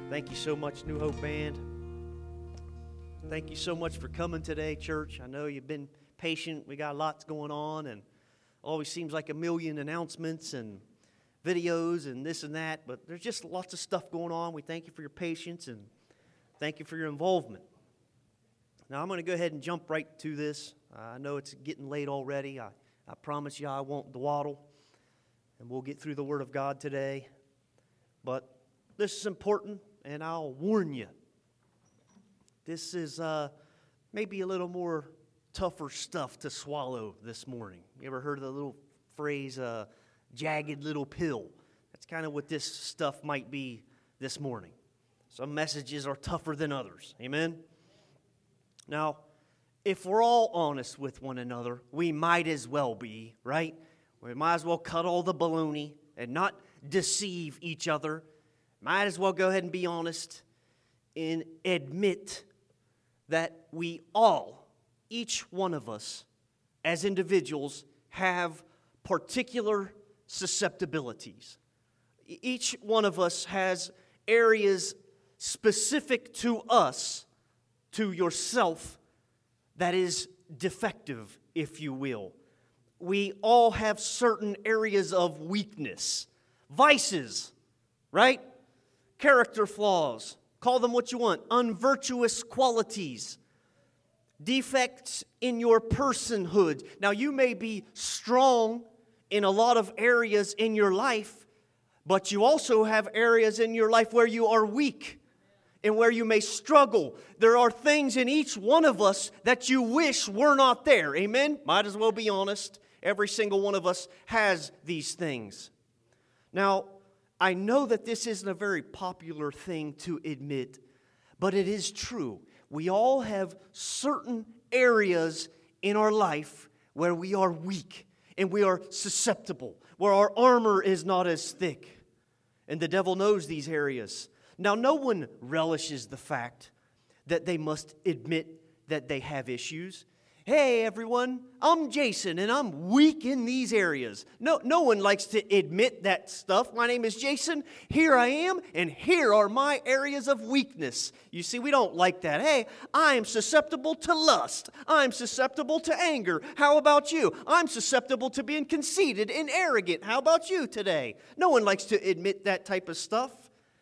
Thank you so much, New Hope Band. Thank you so much for coming today, church. I know you've been patient. We got lots going on, and always seems like a million announcements and videos and this and that, but there's just lots of stuff going on. We thank you for your patience, and thank you for your involvement. Now, I'm going to go ahead and jump right to this. I know it's getting late already. I promise you I won't dawdle, and we'll get through the Word of God today. But this is important, and I'll warn you. This is maybe a little more tougher stuff to swallow this morning. You ever heard of the little phrase, jagged little pill? That's kind of what this stuff might be this morning. Some messages are tougher than others. Amen? Now, if we're all honest with one another, we might as well be, right? We might as well cut all the baloney and not deceive each other. Might as well go ahead and be honest and admit that we all, each one of us, as individuals, have particular susceptibilities. Each one of us has areas specific to us, to yourself, that is defective, if you will. We all have certain areas of weakness, vices, right? Character flaws. Call them what you want. Unvirtuous qualities. Defects in your personhood. Now, you may be strong in a lot of areas in your life, but you also have areas in your life where you are weak and where you may struggle. There are things in each one of us that you wish were not there. Amen? Might as well be honest. Every single one of us has these things. Now, I know that this isn't a very popular thing to admit, but it is true. We all have certain areas in our life where we are weak and we are susceptible, where our armor is not as thick. And the devil knows these areas. Now, no one relishes the fact that they must admit that they have issues. Hey, everyone, I'm Jason, and I'm weak in these areas. No one likes to admit that stuff. My name is Jason. Here I am, and here are my areas of weakness. You see, we don't like that. Hey, I am susceptible to lust. I'm susceptible to anger. How about you? I'm susceptible to being conceited and arrogant. How about you today? No one likes to admit that type of stuff.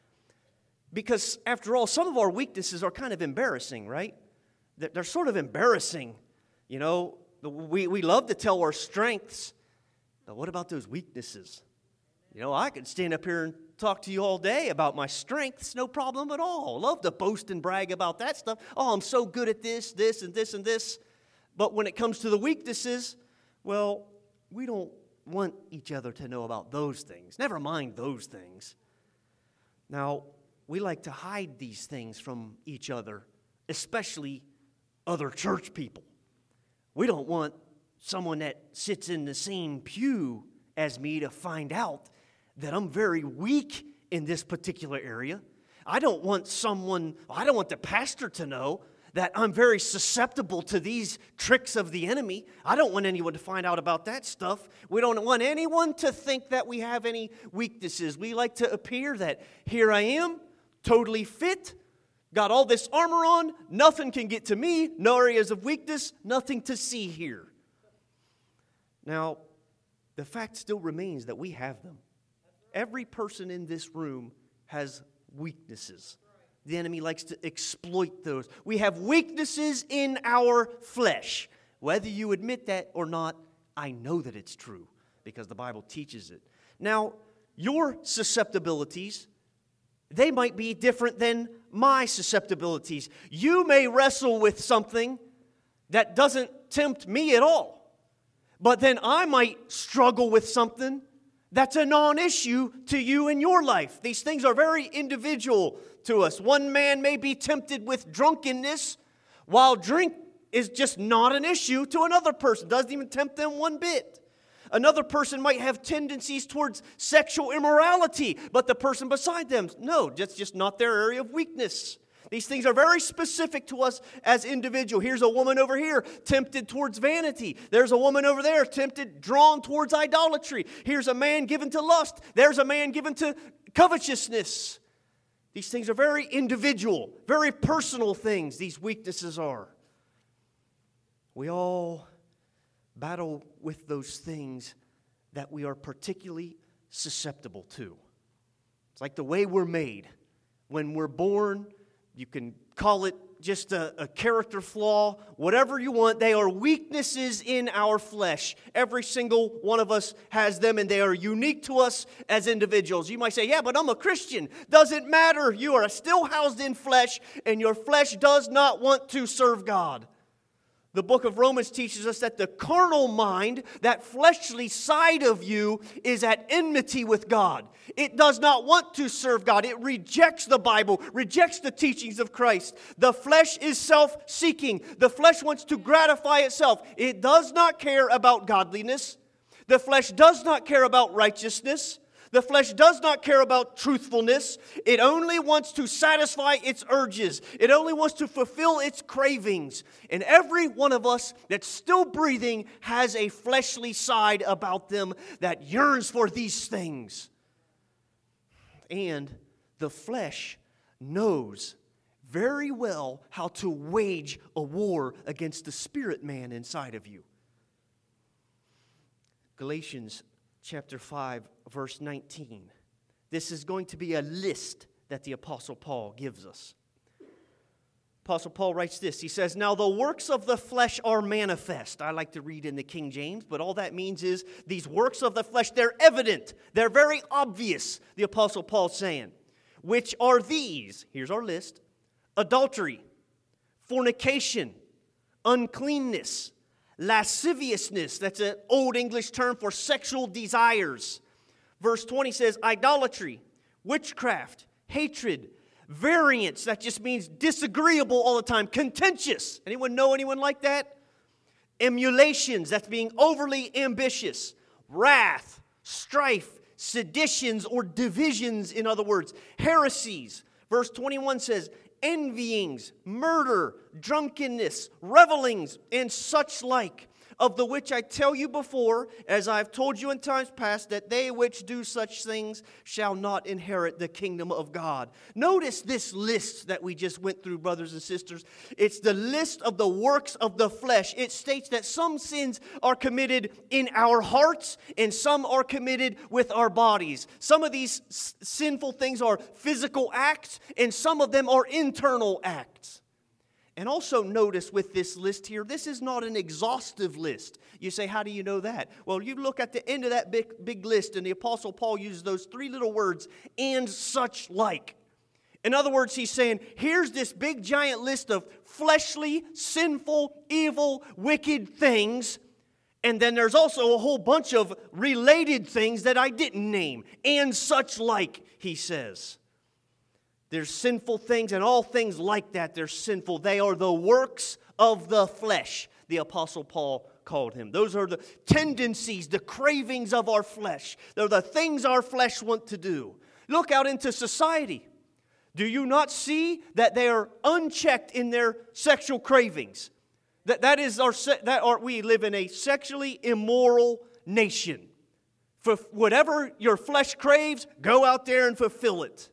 Because, after all, some of our weaknesses are kind of embarrassing, right? They're sort of embarrassing. You know, we love to tell our strengths, but what about those weaknesses? You know, I could stand up here and talk to you all day about my strengths, no problem at all. Love to boast and brag about that stuff. Oh, I'm so good at this, and this, and this. But when it comes to the weaknesses, well, we don't want each other to know about those things. Never mind those things. Now, we like to hide these things from each other, especially other church people. We don't want someone that sits in the same pew as me to find out that I'm very weak in this particular area. I don't want the pastor to know that I'm very susceptible to these tricks of the enemy. I don't want anyone to find out about that stuff. We don't want anyone to think that we have any weaknesses. We like to appear that here I am, totally fit, got all this armor on, nothing can get to me, no areas of weakness, nothing to see here. Now, the fact still remains that we have them. Every person in this room has weaknesses. The enemy likes to exploit those. We have weaknesses in our flesh. Whether you admit that or not, I know that it's true because the Bible teaches it. Now, your susceptibilities, they might be different than my susceptibilities. You may wrestle with something that doesn't tempt me at all. But then I might struggle with something that's a non-issue to you in your life. These things are very individual to us. One man may be tempted with drunkenness, while drink is just not an issue to another person. Doesn't even tempt them one bit. Another person might have tendencies towards sexual immorality, but the person beside them, no, that's just not their area of weakness. These things are very specific to us as individuals. Here's a woman over here tempted towards vanity. There's a woman over there drawn towards idolatry. Here's a man given to lust. There's a man given to covetousness. These things are very individual, very personal things, these weaknesses are. We all battle with those things that we are particularly susceptible to. It's like the way we're made. When we're born, you can call it just a character flaw, whatever you want. They are weaknesses in our flesh. Every single one of us has them, and they are unique to us as individuals. You might say, yeah, but I'm a Christian. Doesn't matter. You are still housed in flesh, and your flesh does not want to serve God. The book of Romans teaches us that the carnal mind, that fleshly side of you, is at enmity with God. It does not want to serve God. It rejects the Bible, rejects the teachings of Christ. The flesh is self-seeking. The flesh wants to gratify itself. It does not care about godliness. The flesh does not care about righteousness. The flesh does not care about truthfulness. It only wants to satisfy its urges. It only wants to fulfill its cravings. And every one of us that's still breathing has a fleshly side about them that yearns for these things. And the flesh knows very well how to wage a war against the spirit man inside of you. Galatians chapter 5, verse 19. This is going to be a list that the Apostle Paul gives us. Apostle Paul writes this. He says, now the works of the flesh are manifest. I like to read in the King James, but all that means is these works of the flesh, they're evident. They're very obvious, the Apostle Paul's saying. Which are these? Here's our list. Adultery, fornication, uncleanness, lasciviousness, that's an old English term for sexual desires. Verse 20 says idolatry, witchcraft, hatred, variance, that just means disagreeable all the time, contentious. Anyone know anyone like that? Emulations, that's being overly ambitious. Wrath, strife, seditions or divisions, in other words, heresies. Verse 21 says envyings, murder, drunkenness, revelings, and such like, of the which I tell you before, as I have told you in times past, that they which do such things shall not inherit the kingdom of God. Notice this list that we just went through, brothers and sisters. It's the list of the works of the flesh. It states that some sins are committed in our hearts and some are committed with our bodies. Some of these sinful things are physical acts and some of them are internal acts. And also notice with this list here, this is not an exhaustive list. You say, how do you know that? Well, you look at the end of that big list, and the Apostle Paul uses those three little words, and such like. In other words, he's saying, here's this big giant list of fleshly, sinful, evil, wicked things, and then there's also a whole bunch of related things that I didn't name, and such like, he says. There's sinful things, and all things like that, they're sinful. They are the works of the flesh, the Apostle Paul called him. Those are the tendencies, the cravings of our flesh. They're the things our flesh want to do. Look out into society. Do you not see that they are unchecked in their sexual cravings? We live in a sexually immoral nation. For whatever your flesh craves, go out there and fulfill it.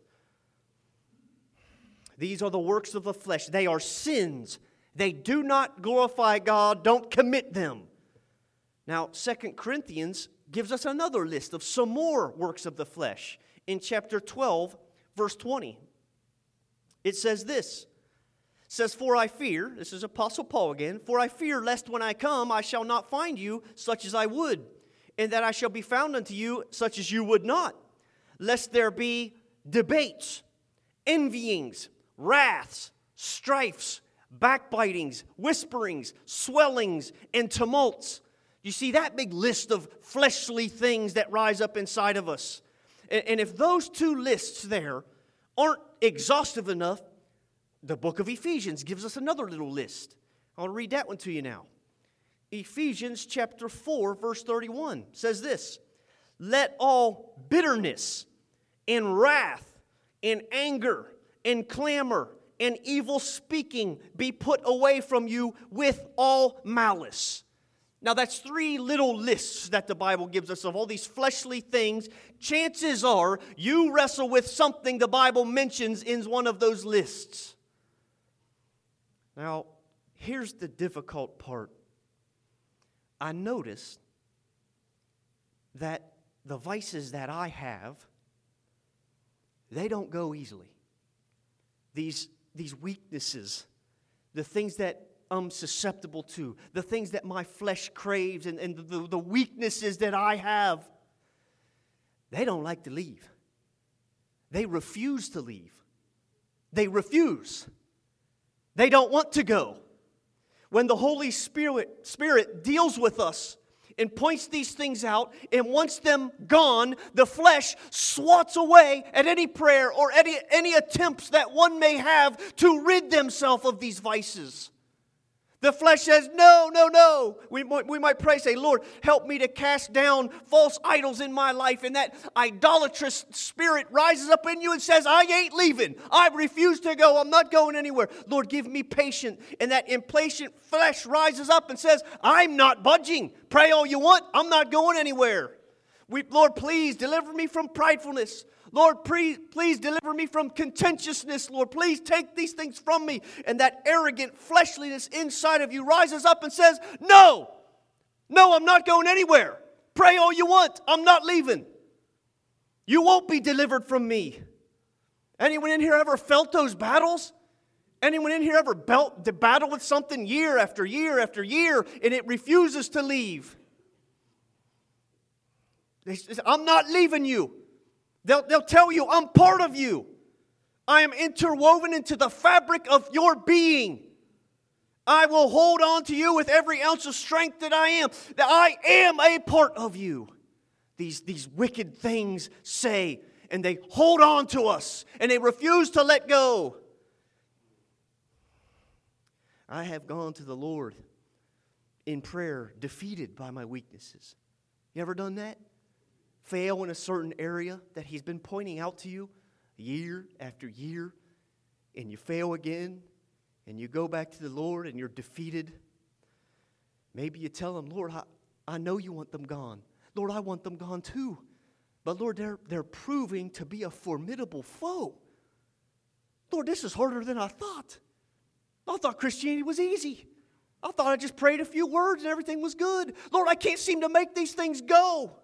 These are the works of the flesh. They are sins. They do not glorify God. Don't commit them. Now, 2 Corinthians gives us another list of some more works of the flesh. In chapter 12, verse 20, it says this. It says, for I fear, this is Apostle Paul again, for I fear lest when I come I shall not find you such as I would, and that I shall be found unto you such as you would not, lest there be debates, envyings, wraths, strifes, backbitings, whisperings, swellings, and tumults. You see that big list of fleshly things that rise up inside of us. And if those two lists there aren't exhaustive enough, the book of Ephesians gives us another little list. I'll read that one to you now. Ephesians chapter 4, verse 31 says this, let all bitterness and wrath and anger and clamor and evil speaking be put away from you with all malice. Now, that's 3 little lists that the Bible gives us of all these fleshly things. Chances are you wrestle with something the Bible mentions in one of those lists. Now, here's the difficult part. I noticed that the vices that I have, they don't go easily. These weaknesses, the things that I'm susceptible to, the things that my flesh craves, and the weaknesses that I have, they don't like to leave. They refuse to leave. They refuse. They don't want to go. When the Holy Spirit deals with us and points these things out and wants them gone, the flesh swats away at any prayer or any attempts that one may have to rid themselves of these vices. The flesh says, no, no, no. We might pray, say, Lord, help me to cast down false idols in my life. And that idolatrous spirit rises up in you and says, I ain't leaving. I refuse to go. I'm not going anywhere. Lord, give me patience. And that impatient flesh rises up and says, I'm not budging. Pray all you want. I'm not going anywhere. Lord, please deliver me from pridefulness. Lord, please deliver me from contentiousness. Lord, please take these things from me. And that arrogant fleshliness inside of you rises up and says, no, I'm not going anywhere. Pray all you want. I'm not leaving. You won't be delivered from me. Anyone in here ever felt those battles? Anyone in here ever battle with something year after year after year and it refuses to leave? They say, I'm not leaving you. They'll tell you, I'm part of you. I am interwoven into the fabric of your being. I will hold on to you with every ounce of strength that I am. That I am a part of you. These wicked things say, and they hold on to us, and they refuse to let go. I have gone to the Lord in prayer, defeated by my weaknesses. You ever done that? Fail in a certain area that He's been pointing out to you year after year, and you fail again, and you go back to the Lord and you're defeated. Maybe you tell Him, Lord, I know you want them gone. Lord, I want them gone too. But Lord, they're proving to be a formidable foe. Lord, this is harder than I thought. I thought Christianity was easy. I thought I just prayed a few words and everything was good. Lord, I can't seem to make these things go.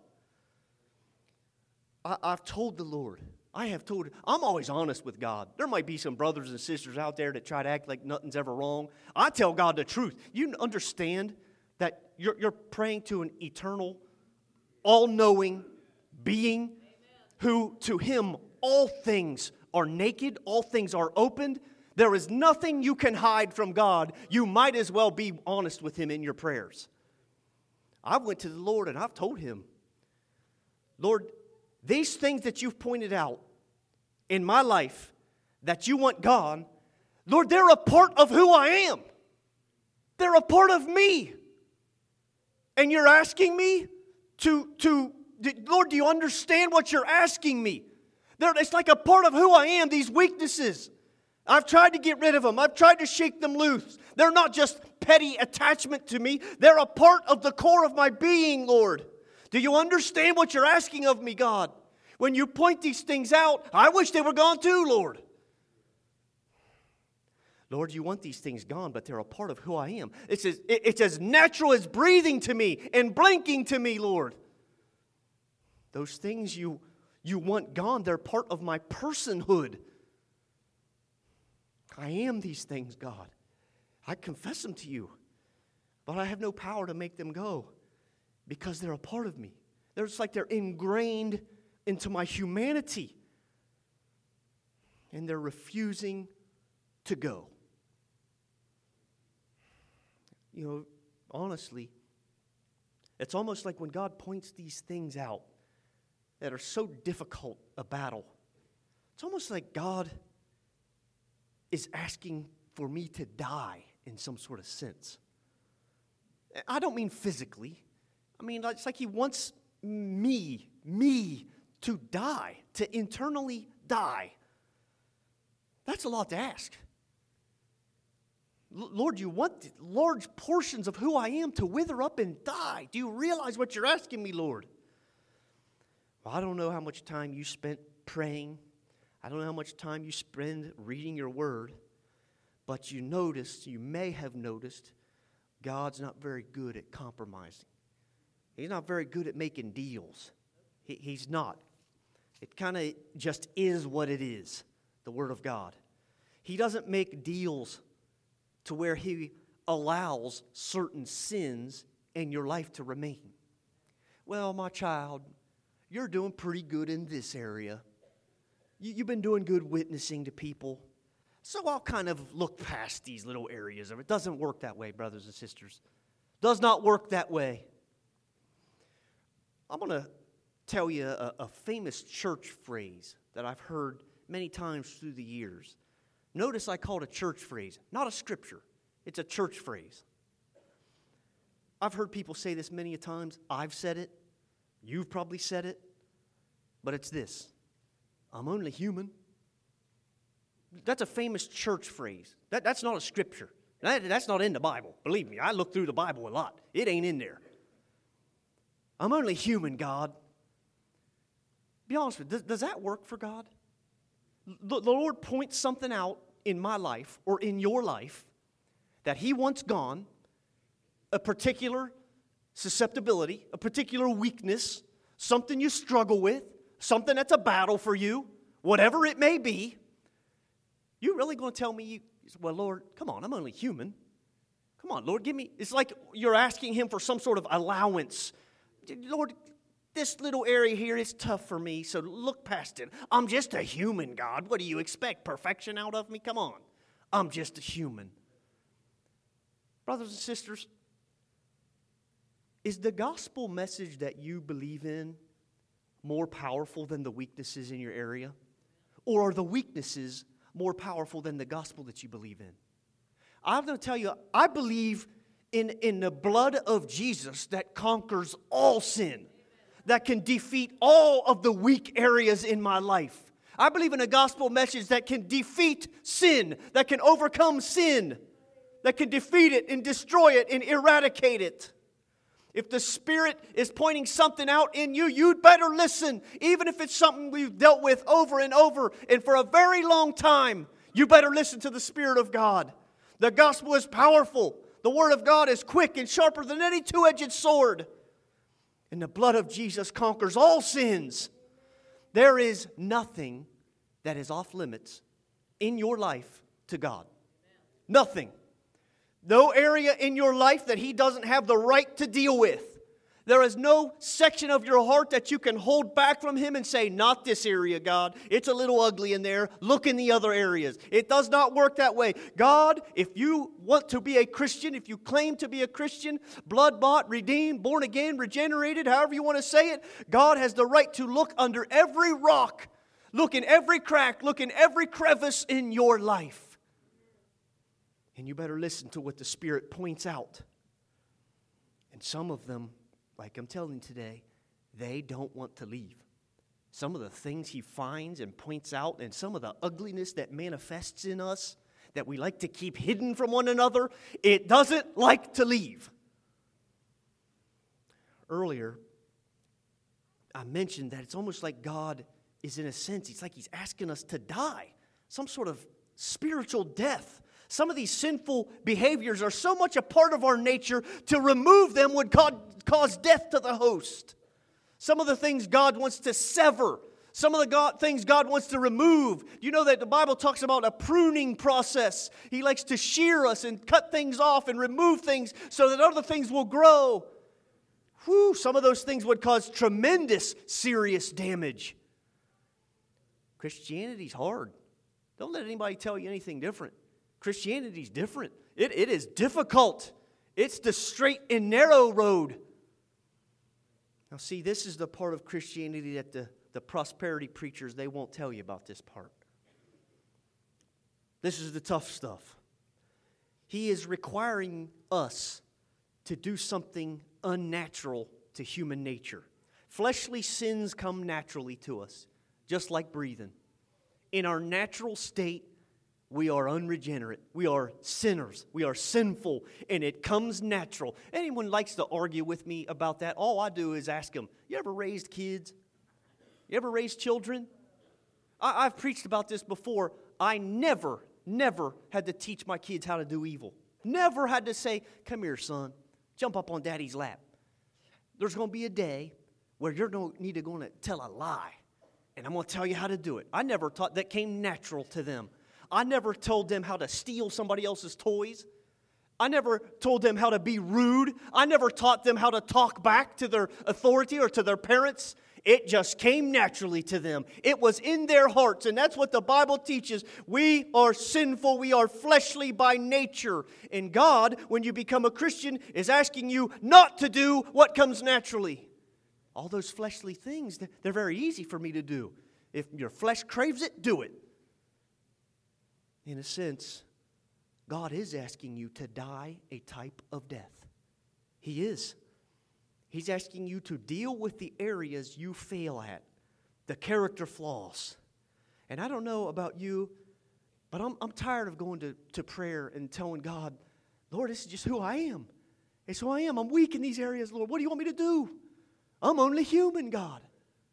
I've told the Lord. I'm always honest with God. There might be some brothers and sisters out there that try to act like nothing's ever wrong. I tell God the truth. You understand that you're praying to an eternal, all-knowing being who to Him all things are naked, all things are opened. There is nothing you can hide from God. You might as well be honest with Him in your prayers. I went to the Lord and I've told Him, Lord, these things that you've pointed out in my life that you want gone, Lord, they're a part of who I am. They're a part of me. And you're asking me Lord, do you understand what you're asking me? It's like a part of who I am, these weaknesses. I've tried to get rid of them. I've tried to shake them loose. They're not just petty attachment to me. They're a part of the core of my being, Lord. Do you understand what you're asking of me, God? When you point these things out, I wish they were gone too, Lord. Lord, you want these things gone, but they're a part of who I am. It's as natural as breathing to me and blinking to me, Lord. Those things you want gone, they're part of my personhood. I am these things, God. I confess them to you, but I have no power to make them go because they're a part of me. They're just like they're ingrained into my humanity, and they're refusing to go. You know, honestly, it's almost like when God points these things out that are so difficult a battle, it's almost like God is asking for me to die in some sort of sense. I don't mean physically. I mean, it's like He wants me to die, to internally die. That's a lot to ask. Lord, you want large portions of who I am to wither up and die. Do you realize what you're asking me, Lord? Well, I don't know how much time you spent praying. I don't know how much time you spend reading your word. But you may have noticed, God's not very good at compromising. He's not very good at making deals. He's not. It kind of just is what it is, the Word of God. He doesn't make deals to where He allows certain sins in your life to remain. Well, my child, you're doing pretty good in this area. You've been doing good witnessing to people. So I'll kind of look past these little areas of it. It doesn't work that way, brothers and sisters. Does not work that way. I'm going to tell you a famous church phrase that I've heard many times through the years. Notice I call it a church phrase, not a scripture. It's a church phrase. I've heard people say this many a times. I've said it. You've probably said it. But it's this: I'm only human. That's a famous church phrase. That's not a scripture. That's not in the Bible. Believe me, I look through the Bible a lot. It ain't in there. I'm only human, God. Be honest with you, does that work for God? The Lord points something out in my life or in your life that He wants gone, a particular susceptibility, a particular weakness, something you struggle with, something that's a battle for you, whatever it may be. You really going to tell me, well, Lord, come on, I'm only human. Come on, Lord, give me. It's like you're asking Him for some sort of allowance. Lord, this little area here is tough for me, so look past it. I'm just a human, God. What do you expect? Perfection out of me? Come on. I'm just a human. Brothers and sisters, is the gospel message that you believe in more powerful than the weaknesses in your area? Or are the weaknesses more powerful than the gospel that you believe in? I'm going to tell you, I believe in the blood of Jesus that conquers all sin, that can defeat all of the weak areas in my life. I believe in a gospel message that can defeat sin, that can overcome sin, that can defeat it and destroy it and eradicate it. If the Spirit is pointing something out in you, you'd better listen. Even if it's something we've dealt with over and over and for a very long time, you better listen to the Spirit of God. The gospel is powerful. The Word of God is quick and sharper than any two-edged sword. And the blood of Jesus conquers all sins. There is nothing that is off limits in your life to God. Nothing. No area in your life that He doesn't have the right to deal with. There is no section of your heart that you can hold back from Him and say, not this area, God. It's a little ugly in there. Look in the other areas. It does not work that way. God, if you want to be a Christian, if you claim to be a Christian, blood-bought, redeemed, born again, regenerated, however you want to say it, God has the right to look under every rock, look in every crack, look in every crevice in your life. And you better listen to what the Spirit points out. And some of them, like I'm telling you today, they don't want to leave. Some of the things He finds and points out, and some of the ugliness that manifests in us that we like to keep hidden from one another, it doesn't like to leave. Earlier, I mentioned that it's almost like God is, in a sense, it's like He's asking us to die. Some sort of spiritual death. Some of these sinful behaviors are so much a part of our nature, to remove them would cause death to the host. Some of the things God wants to sever. Some of the things God wants to remove. You know that the Bible talks about a pruning process. He likes to shear us and cut things off and remove things so that other things will grow. Whew, some of those things would cause tremendous, serious damage. Christianity's hard. Don't let anybody tell you anything different. Christianity's different. It is difficult. It's the straight and narrow road. Now see, this is the part of Christianity that the prosperity preachers, they won't tell you about this part. This is the tough stuff. He is requiring us to do something unnatural to human nature. Fleshly sins come naturally to us, just like breathing. In our natural state, We are unregenerate. We are sinners. We are sinful, and it comes natural. Anyone likes to argue with me about that? All I do is ask them, you ever raised kids? You ever raised children? I've preached about this before. I never had to teach my kids how to do evil. Never had to say, come here, son, jump up on daddy's lap. There's going to be a day where you're going to tell a lie, and I'm going to tell you how to do it. I never taught that. Came natural to them. I never told them how to steal somebody else's toys. I never told them how to be rude. I never taught them how to talk back to their authority or to their parents. It just came naturally to them. It was in their hearts, and that's what the Bible teaches. We are sinful. We are fleshly by nature. And God, when you become a Christian, is asking you not to do what comes naturally. All those fleshly things, they're very easy for me to do. If your flesh craves it, do it. In a sense, God is asking you to die a type of death. He is. He's asking you to deal with the areas you fail at, the character flaws. And I don't know about you, but I'm tired of going to prayer and telling God, Lord, this is just who I am. It's who I am. I'm weak in these areas, Lord. What do you want me to do? I'm only human, God.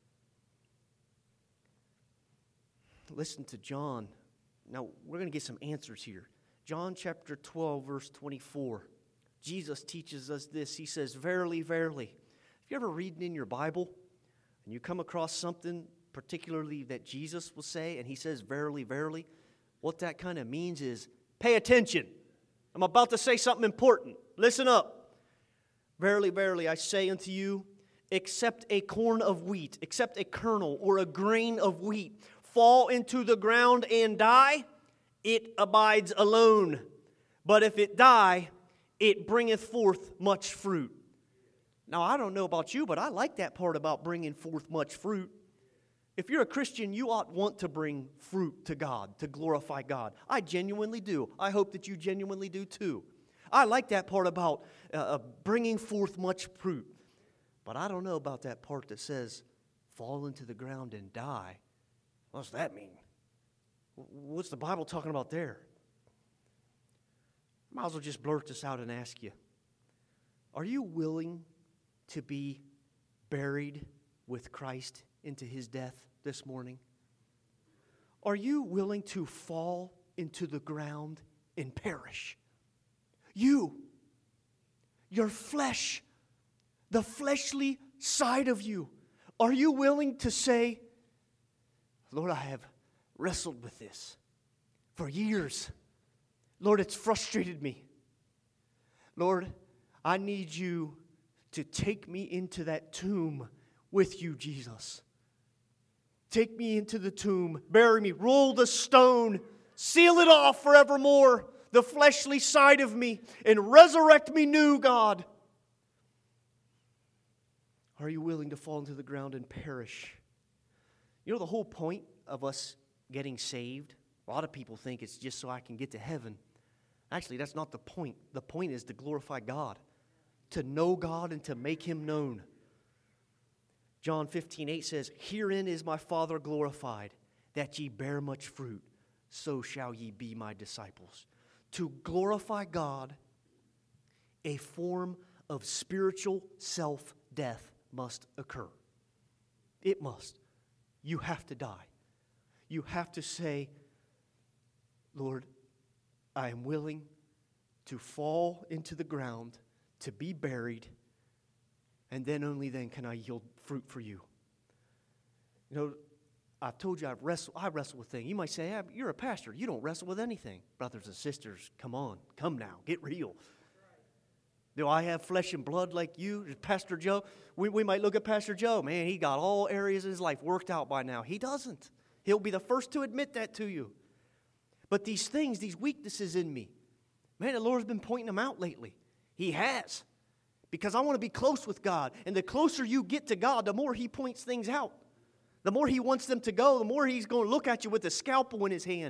Listen to John. Now, we're going to get some answers here. John chapter 12, verse 24. Jesus teaches us this. He says, verily, verily. If you ever read in your Bible and you come across something particularly that Jesus will say, and he says, verily, verily, what that kind of means is, pay attention. I'm about to say something important. Listen up. Verily, verily, I say unto you, except a corn of wheat, except a kernel or a grain of wheat, fall into the ground and die, it abides alone. But if it die, it bringeth forth much fruit. Now, I don't know about you, but I like that part about bringing forth much fruit. If you're a Christian, you ought want to bring fruit to God, to glorify God. I genuinely do. I hope that you genuinely do too. I like that part about bringing forth much fruit. But I don't know about that part that says, fall into the ground and die. What's that mean? What's the Bible talking about there? Might as well just blurt this out and ask you, are you willing to be buried with Christ into his death this morning? Are you willing to fall into the ground and perish? You, your flesh, the fleshly side of you, are you willing to say, Lord, I have wrestled with this for years. Lord, it's frustrated me. Lord, I need you to take me into that tomb with you, Jesus. Take me into the tomb, bury me, roll the stone, seal it off forevermore, the fleshly side of me, and resurrect me new, God. Are you willing to fall into the ground and perish? You know the whole point of us getting saved? A lot of people think it's just so I can get to heaven. Actually, that's not the point. The point is to glorify God, to know God and to make Him known. John 15:8 says, herein is my Father glorified, that ye bear much fruit, so shall ye be my disciples. To glorify God, a form of spiritual self-death must occur. It must. You have to die. You have to say, Lord, I am willing to fall into the ground, to be buried, and then only then can I yield fruit for you. You know, I've told you I wrestle with things. You might say, you're a pastor. You don't wrestle with anything. Brothers and sisters, come on. Come now. Get real. Do I have flesh and blood like you? Pastor Joe? We might look at Pastor Joe. Man, he got all areas of his life worked out by now. He doesn't. He'll be the first to admit that to you. But these things, these weaknesses in me, man, the Lord's been pointing them out lately. He has. Because I want to be close with God. And the closer you get to God, the more He points things out. The more He wants them to go, the more He's going to look at you with a scalpel in His hand.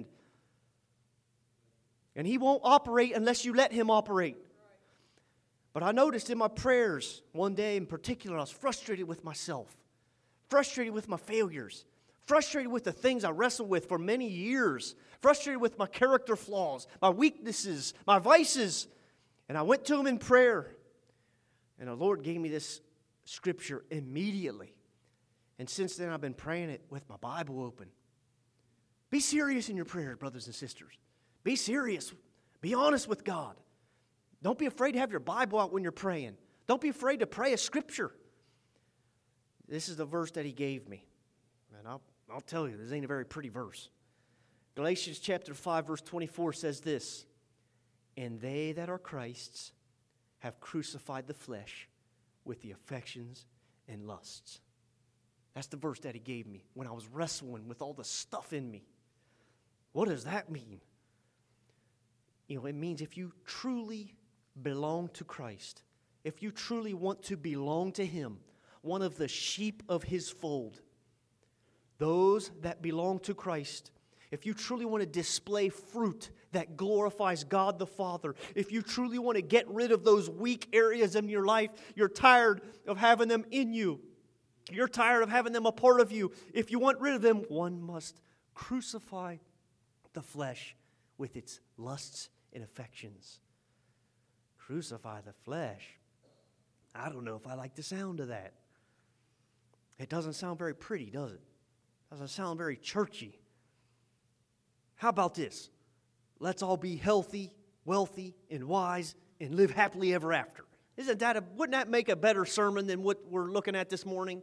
And He won't operate unless you let Him operate. But I noticed in my prayers one day in particular, I was frustrated with myself, frustrated with my failures, frustrated with the things I wrestled with for many years. frustrated with my character flaws, my weaknesses, my vices. And I went to Him in prayer. And the Lord gave me this scripture immediately. And since then, I've been praying it with my Bible open. Be serious in your prayers, brothers and sisters. Be serious. Be honest with God. Don't be afraid to have your Bible out when you're praying. Don't be afraid to pray a scripture. This is the verse that He gave me. And I'll tell you, this ain't a very pretty verse. Galatians chapter 5, verse 24 says this, "And they that are Christ's have crucified the flesh with the affections and lusts." That's the verse that He gave me when I was wrestling with all the stuff in me. What does that mean? You know, it means if you truly belong to Christ, if you truly want to belong to Him, one of the sheep of His fold, those that belong to Christ, if you truly want to display fruit that glorifies God the Father, if you truly want to get rid of those weak areas in your life, you're tired of having them in you, you're tired of having them a part of you, if you want rid of them, one must crucify the flesh with its lusts and affections. Crucify the flesh. I don't know if I like the sound of that. It doesn't sound very pretty, does it? Doesn't sound very churchy. How about this? Let's all be healthy, wealthy, and wise, and live happily ever after. Wouldn't that make a better sermon than what we're looking at this morning?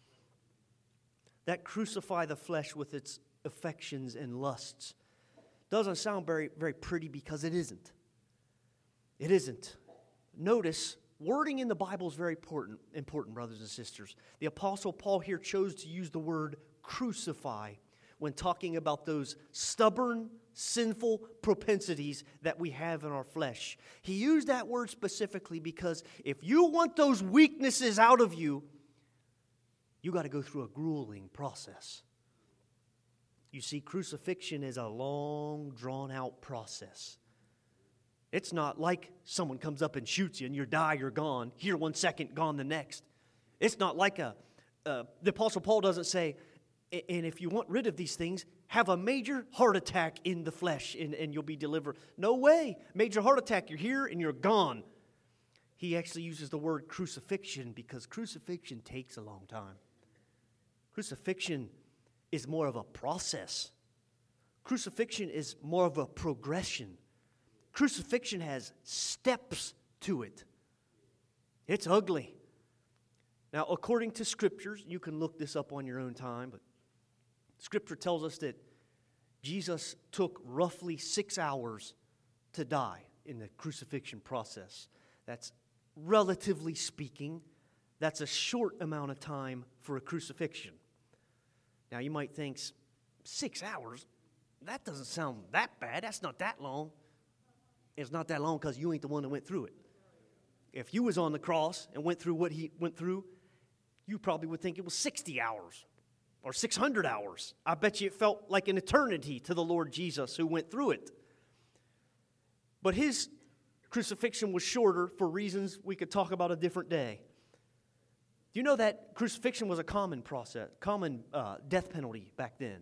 That crucify the flesh with its affections and lusts doesn't sound very, very pretty because it isn't. It isn't. Notice, wording in the Bible is very important, brothers and sisters. The Apostle Paul here chose to use the word crucify when talking about those stubborn, sinful propensities that we have in our flesh. He used that word specifically because if you want those weaknesses out of you, you got to go through a grueling process. You see, crucifixion is a long, drawn-out process. It's not like someone comes up and shoots you and you die, you're gone. Here 1 second, gone the next. It's not like the Apostle Paul doesn't say, and if you want rid of these things, have a major heart attack in the flesh and you'll be delivered. No way. Major heart attack, you're here and you're gone. He actually uses the word crucifixion because crucifixion takes a long time. Crucifixion is more of a process. Crucifixion is more of a progression. Crucifixion has steps to it. It's ugly. Now, according to Scriptures, you can look this up on your own time, but Scripture tells us that Jesus took roughly 6 hours to die in the crucifixion process. That's, relatively speaking, that's a short amount of time for a crucifixion. Now, you might think, 6 hours? That doesn't sound that bad. That's not that long. It's not that long because you ain't the one that went through it. If you was on the cross and went through what He went through, you probably would think it was 60 hours or 600 hours. I bet you it felt like an eternity to the Lord Jesus who went through it. But His crucifixion was shorter for reasons we could talk about a different day. Do you know that crucifixion was a common death penalty back then?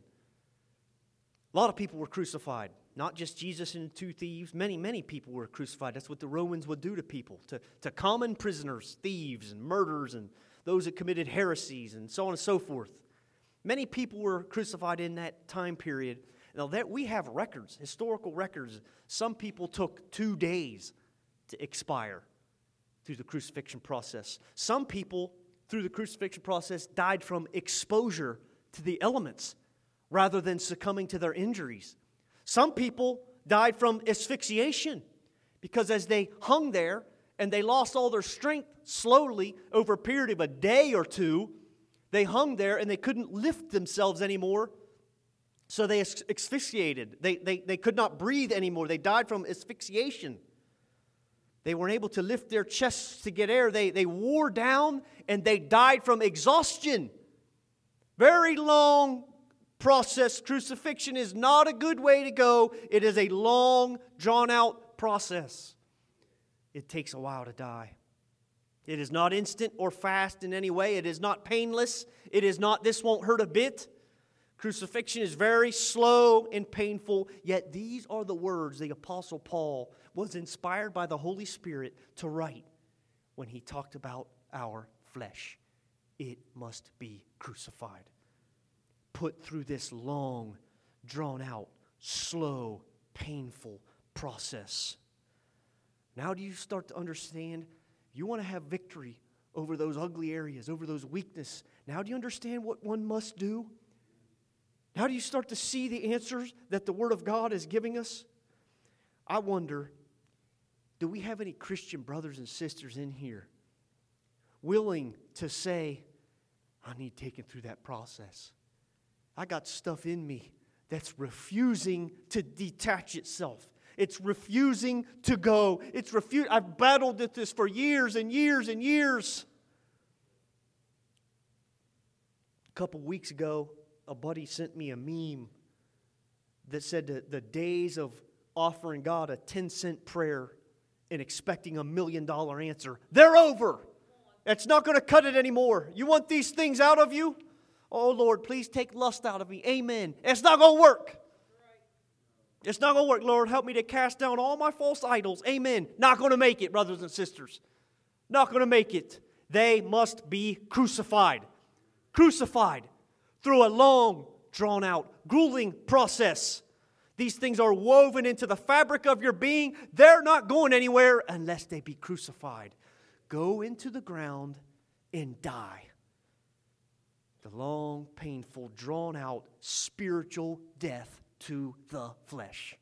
A lot of people were crucified. Not just Jesus and the two thieves. Many people were crucified. That's what the Romans would do to people, to common prisoners, thieves and murderers and those that committed heresies and so on and so forth. Many people were crucified in that time period. Now, that we have records, historical records. Some people took 2 days to expire through the crucifixion process. Some people, through the crucifixion process, died from exposure to the elements rather than succumbing to their injuries. Some people died from asphyxiation because as they hung there and they lost all their strength slowly over a period of a day or two, they hung there and they couldn't lift themselves anymore, so they asphyxiated. They could not breathe anymore. They died from asphyxiation. They weren't able to lift their chests to get air. They wore down and they died from exhaustion. Very long process. Crucifixion is not a good way to go. It is a long, drawn-out process. It takes a while to die. It is not instant or fast in any way. It is not painless. It is not, this won't hurt a bit. Crucifixion is very slow and painful, yet these are the words the Apostle Paul was inspired by the Holy Spirit to write when he talked about our flesh. It must be crucified. Put through this long, drawn-out, slow, painful process. Now do you start to understand? You want to have victory over those ugly areas, over those weaknesses. Now do you understand what one must do? Now do you start to see the answers that the Word of God is giving us? I wonder, do we have any Christian brothers and sisters in here willing to say, I need taken through that process? I got stuff in me that's refusing to detach itself. It's refusing to go. I've battled with this for years and years and years. A couple weeks ago, a buddy sent me a meme that said the days of offering God a 10-cent prayer and expecting $1 million answer, they're over. It's not going to cut it anymore. You want these things out of you? Oh, Lord, please take lust out of me. Amen. It's not going to work. It's not going to work. Lord, help me to cast down all my false idols. Amen. Not going to make it, brothers and sisters. Not going to make it. They must be crucified. Crucified through a long, drawn-out, grueling process. These things are woven into the fabric of your being. They're not going anywhere unless they be crucified. Go into the ground and die. The long, painful, drawn-out, spiritual death to the flesh.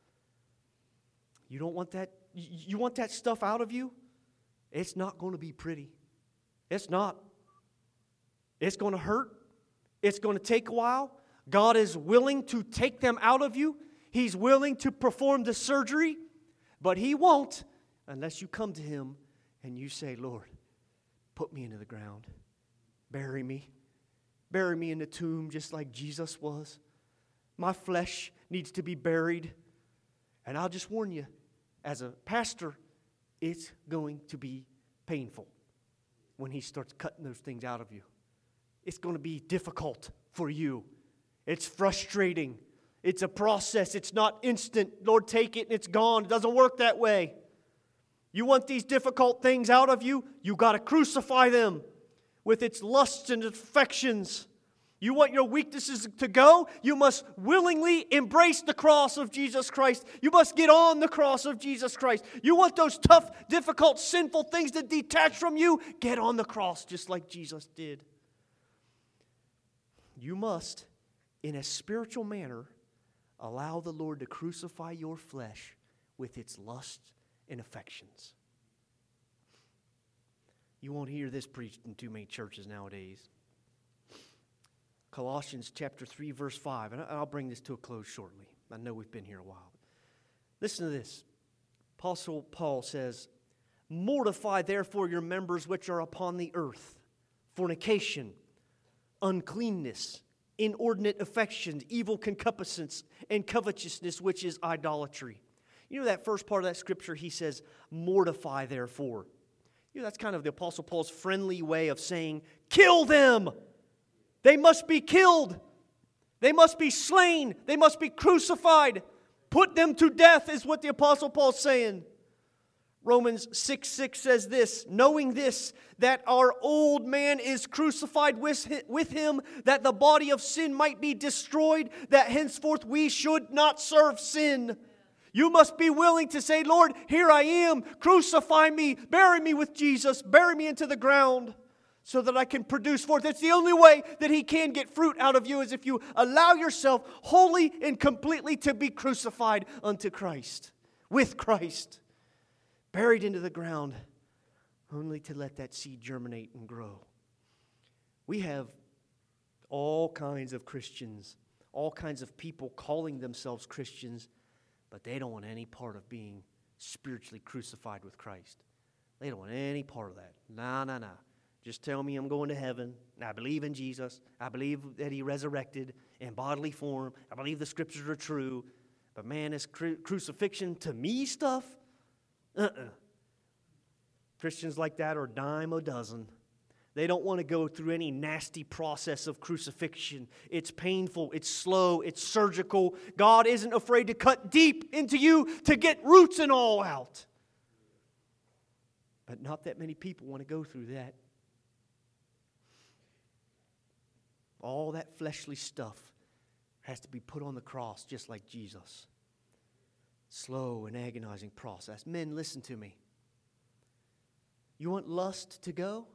You don't want that? You want that stuff out of you? It's not going to be pretty. It's not. It's going to hurt. It's going to take a while. God is willing to take them out of you. He's willing to perform the surgery, but He won't unless you come to Him and you say, Lord, put me into the ground. Bury me. Bury me in the tomb just like Jesus was. My flesh needs to be buried. And I'll just warn you, as a pastor, it's going to be painful when He starts cutting those things out of you. It's going to be difficult for you. It's frustrating. It's a process. It's not instant. Lord, take it and it's gone. It doesn't work that way. You want these difficult things out of you? You got to crucify them with its lusts and affections. You want your weaknesses to go? You must willingly embrace the cross of Jesus Christ. You must get on the cross of Jesus Christ. You want those tough, difficult, sinful things to detach from you? Get on the cross just like Jesus did. You must, in a spiritual manner, allow the Lord to crucify your flesh with its lusts and affections. You won't hear this preached in too many churches nowadays. Colossians chapter 3, verse 5. And I'll bring this to a close shortly. I know we've been here a while. Listen to this. Apostle Paul says, mortify therefore your members which are upon the earth, fornication, uncleanness, inordinate affections, evil concupiscence, and covetousness, which is idolatry. You know that first part of that scripture, he says, mortify therefore. You know, that's kind of the Apostle Paul's friendly way of saying, kill them. They must be killed. They must be slain. They must be crucified. Put them to death is what the Apostle Paul's saying. Romans 6:6 says this, knowing this, that our old man is crucified with him, that the body of sin might be destroyed, that henceforth we should not serve sin. You must be willing to say, Lord, here I am, crucify me, bury me with Jesus, bury me into the ground so that I can produce forth. It's the only way that He can get fruit out of you is if you allow yourself wholly and completely to be crucified unto Christ, with Christ. Buried into the ground, only to let that seed germinate and grow. We have all kinds of Christians, all kinds of people calling themselves Christians, but they don't want any part of being spiritually crucified with Christ. They don't want any part of that. No. Just tell me I'm going to heaven. I believe in Jesus. I believe that He resurrected in bodily form. I believe the Scriptures are true. But man, this crucifixion to me stuff, Christians like that are a dime a dozen. They don't want to go through any nasty process of crucifixion. It's painful, it's slow, it's surgical. God isn't afraid to cut deep into you to get roots and all out. But not that many people want to go through that. All that fleshly stuff has to be put on the cross just like Jesus. Slow and agonizing process. Men, listen to me. You want lust to go?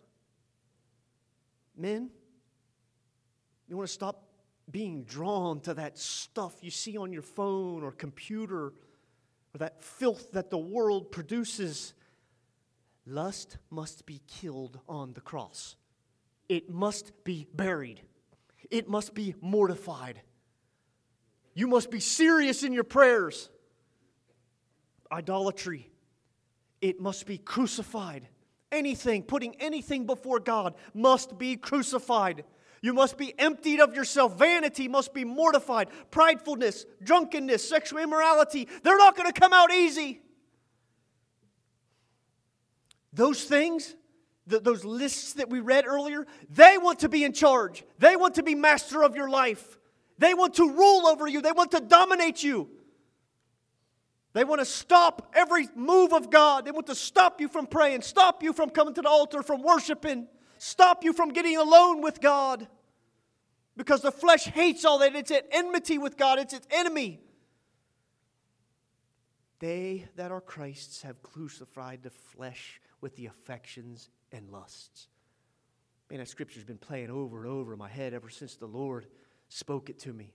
Men, you want to stop being drawn to that stuff you see on your phone or computer or that filth that the world produces. Lust must be killed on the cross. It must be buried. It must be mortified. You must be serious in your prayers. Idolatry, it must be crucified. Anything, putting anything before God must be crucified. You must be emptied of yourself. Vanity must be mortified. Pridefulness, drunkenness, sexual immorality, they're not going to come out easy. Those things, those lists that we read earlier, they want to be in charge. They want to be master of your life. They want to rule over you. They want to dominate you. They want to stop every move of God. They want to stop you from praying, stop you from coming to the altar, from worshiping, stop you from getting alone with God. Because the flesh hates all that. It's at enmity with God. It's its enemy. They that are Christ's have crucified the flesh with the affections and lusts. Man, that scripture's been playing over and over in my head ever since the Lord spoke it to me.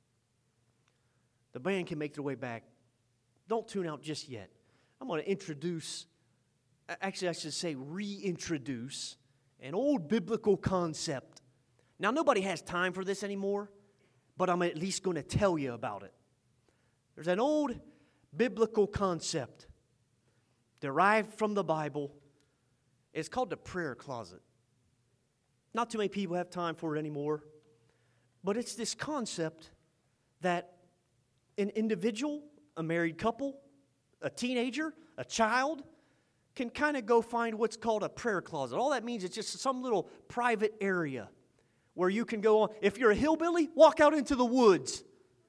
The band can make their way back. Don't tune out just yet. I'm going to introduce, actually I should say reintroduce, an old biblical concept. Now nobody has time for this anymore, but I'm at least going to tell you about it. There's an old biblical concept derived from the Bible. It's called the prayer closet. Not too many people have time for it anymore, but it's this concept that an individual, a married couple, a teenager, a child, can kind of go find what's called a prayer closet. All that means is just some little private area where you can go on. If you're a hillbilly, walk out into the woods.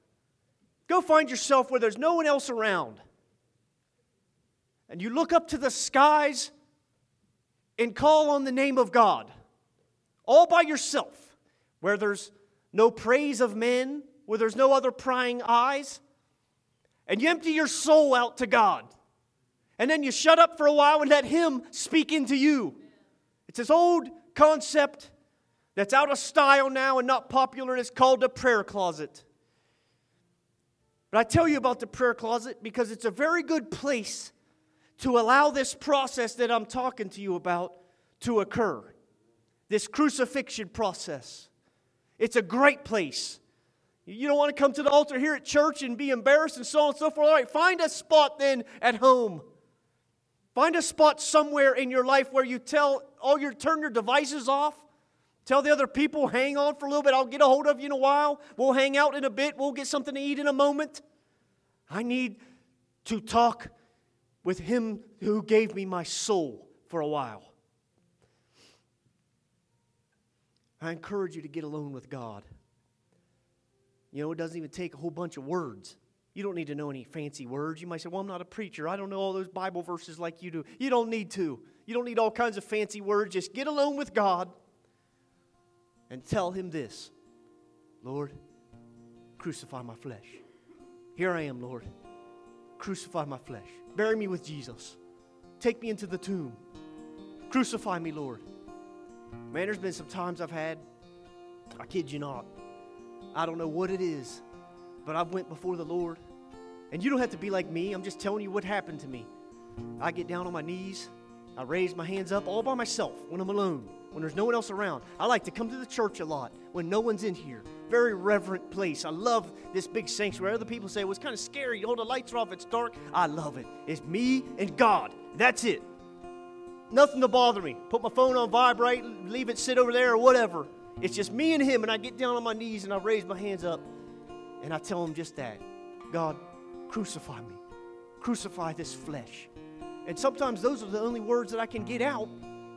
Go find yourself where there's no one else around. And you look up to the skies and call on the name of God. All by yourself. Where there's no praise of men, where there's no other prying eyes. And you empty your soul out to God. And then you shut up for a while and let Him speak into you. It's this old concept that's out of style now and not popular, and it's called the prayer closet. But I tell you about the prayer closet because it's a very good place to allow this process that I'm talking to you about to occur. This crucifixion process. It's a great place. You don't want to come to the altar here at church and be embarrassed and so on and so forth. All right, find a spot then at home. Find a spot somewhere in your life where you turn your devices off. Tell the other people, hang on for a little bit. I'll get a hold of you in a while. We'll hang out in a bit. We'll get something to eat in a moment. I need to talk with Him who gave me my soul for a while. I encourage you to get alone with God. You know, it doesn't even take a whole bunch of words. You don't need to know any fancy words. You might say, well, I'm not a preacher. I don't know all those Bible verses like you do. You don't need to. You don't need all kinds of fancy words. Just get alone with God and tell Him this. Lord, crucify my flesh. Here I am, Lord. Crucify my flesh. Bury me with Jesus. Take me into the tomb. Crucify me, Lord. Man, there's been some times I've had, I kid you not, I don't know what it is, but I've went before the Lord. And you don't have to be like me. I'm just telling you what happened to me. I get down on my knees. I raise my hands up all by myself when I'm alone, when there's no one else around. I like to come to the church a lot when no one's in here. Very reverent place. I love this big sanctuary. Other people say, well, it's kind of scary. All the lights are off. It's dark. I love it. It's me and God. That's it. Nothing to bother me. Put my phone on vibrate, leave it sit over there or whatever. It's just me and Him, and I get down on my knees and I raise my hands up and I tell Him just that. God, crucify me. Crucify this flesh. And sometimes those are the only words that I can get out.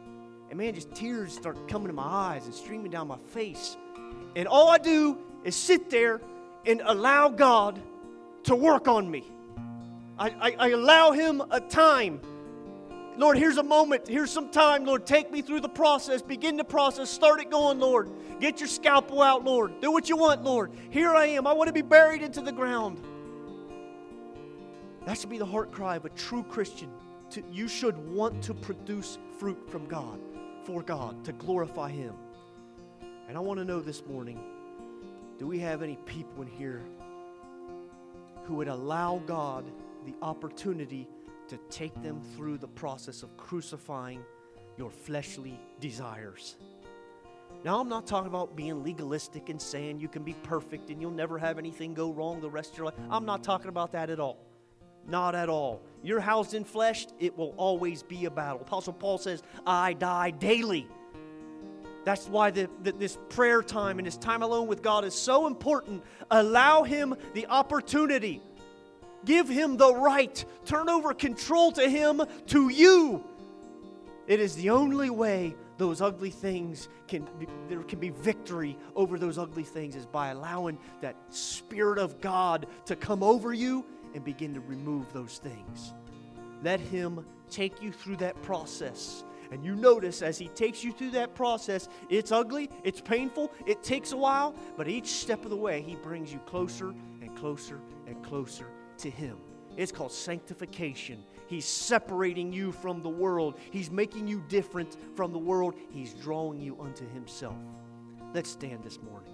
And man, just tears start coming to my eyes and streaming down my face. And all I do is sit there and allow God to work on me. I allow Him a time. Lord, here's a moment. Here's some time. Lord, take me through the process. Begin the process. Start it going, Lord. Get your scalpel out, Lord. Do what you want, Lord. Here I am. I want to be buried into the ground. That should be the heart cry of a true Christian. You should want to produce fruit from God, for God, to glorify Him. And I want to know this morning, do we have any people in here who would allow God the opportunity to take them through the process of crucifying your fleshly desires? Now, I'm not talking about being legalistic and saying you can be perfect and you'll never have anything go wrong the rest of your life. I'm not talking about that at all. Not at all. You're housed in flesh, it will always be a battle. Apostle Paul says, I die daily. That's why this prayer time and this time alone with God is so important. Allow Him the opportunity. Give Him the right. Turn over control to Him, to you. It is the only way those ugly things there can be victory over those ugly things, is by allowing that Spirit of God to come over you and begin to remove those things. Let Him take you through that process. And you notice as He takes you through that process, it's ugly, it's painful, it takes a while, but each step of the way He brings you closer and closer and closer to Him. It's called sanctification. He's separating you from the world. He's making you different from the world. He's drawing you unto Himself. Let's stand this morning.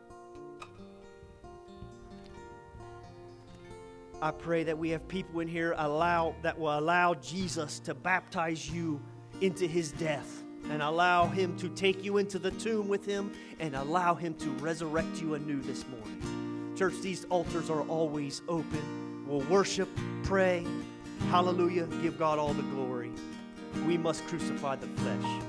I pray that we have people in here that will allow Jesus to baptize you into His death, and allow Him to take you into the tomb with Him, and allow Him to resurrect you anew this morning. Church, these altars are always open. We'll worship, pray, hallelujah, give God all the glory. We must crucify the flesh.